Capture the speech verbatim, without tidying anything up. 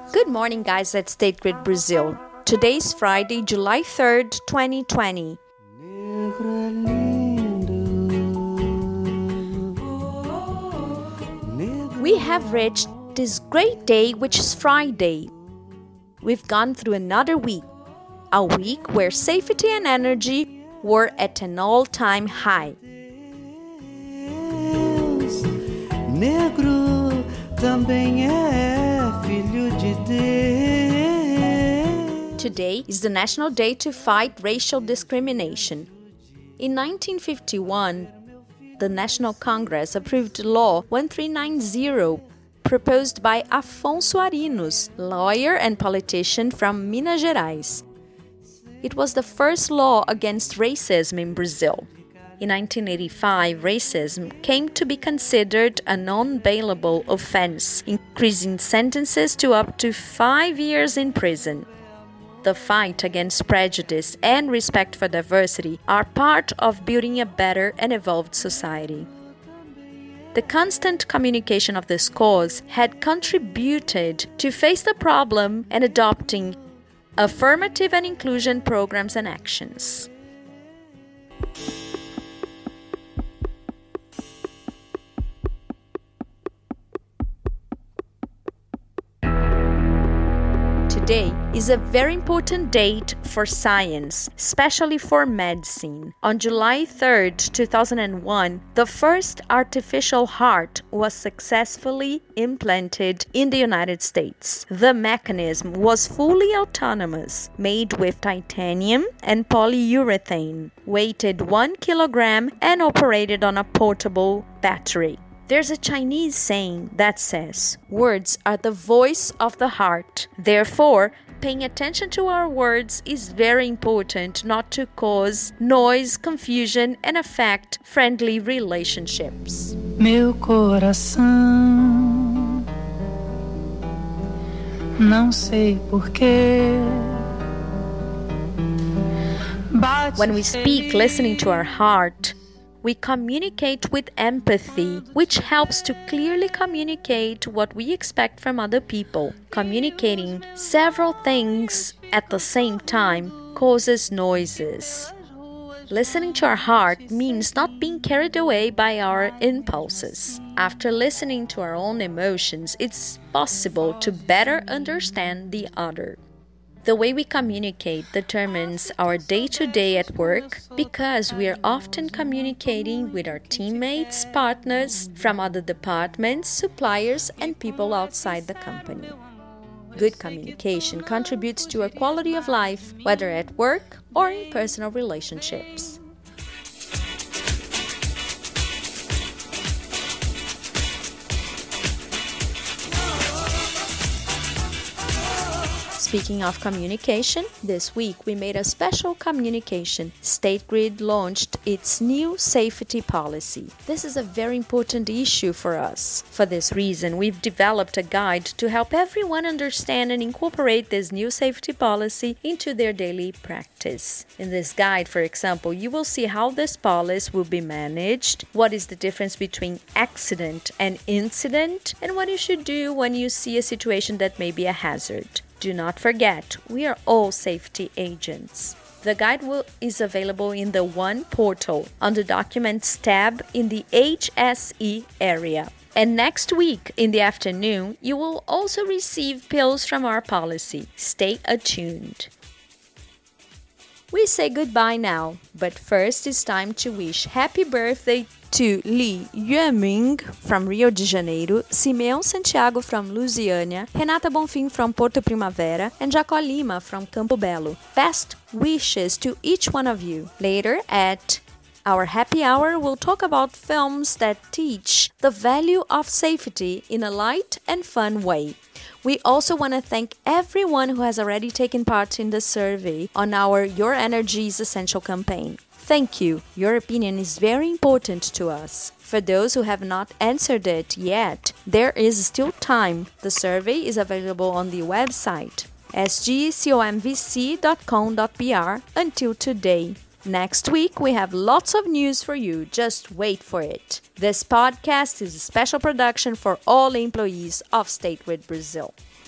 Good morning, guys, at State Grid Brazil. Today is Friday, July third, twenty twenty. We have reached this great day, which is Friday. We've gone through another week, a week where safety and energy were at an all-time high. Negro também é filho de Deus. Today is the National Day to Fight Racial Discrimination. In nineteen fifty-one, the National Congress approved Law thirteen ninety, proposed by Afonso Arinos, lawyer and politician from Minas Gerais. It was the first law against racism in Brazil. In nineteen eighty-five, racism came to be considered a non-bailable offense, increasing sentences to up to five years in prison. The fight against prejudice and respect for diversity are part of building a better and evolved society. The constant communication of this cause had contributed to face the problem and adopting affirmative and inclusion programs and actions. Today is a very important date for science, especially for medicine. On July third, two thousand one, the first artificial heart was successfully implanted in the United States. The mechanism was fully autonomous, made with titanium and polyurethane, weighed one kilogram and operated on a portable battery. There's a Chinese saying that says, "Words are the voice of the heart." Therefore, paying attention to our words is very important not to cause noise, confusion, and affect friendly relationships. Meu coração, não sei porquê. When we speak listening to our heart, we communicate with empathy, which helps to clearly communicate what we expect from other people. Communicating several things at the same time causes noises. Listening to our heart means not being carried away by our impulses. After listening to our own emotions, it's possible to better understand the other. The way we communicate determines our day-to-day at work because we are often communicating with our teammates, partners from other departments, suppliers, and people outside the company. Good communication contributes to our quality of life, whether at work or in personal relationships. Speaking of communication, this week we made a special communication. State Grid launched its new safety policy. This is a very important issue for us. For this reason, we've developed a guide to help everyone understand and incorporate this new safety policy into their daily practice. In this guide, for example, you will see how this policy will be managed, what is the difference between accident and incident, and what you should do when you see a situation that may be a hazard. Do not forget, we are all safety agents. The guide will, is available in the One portal on the Documents tab in the H S E area. And next week in the afternoon, you will also receive pills from our policy. Stay attuned. We say goodbye now, but first it's time to wish happy birthday to Li Yueming from Rio de Janeiro, Simeão Santiago from Lusiânia, Renata Bonfim from Porto Primavera, and Jacó Lima from Campo Belo. Best wishes to each one of you. Later at our happy hour, we'll talk about films that teach the value of safety in a light and fun way. We also want to thank everyone who has already taken part in the survey on our Your Energy is Essential campaign. Thank you. Your opinion is very important to us. For those who have not answered it yet, there is still time. The survey is available on the website s g com v c dot com dot b r until today. Next week, we have lots of news for you. Just wait for it. This podcast is a special production for all employees of State Grid Brazil.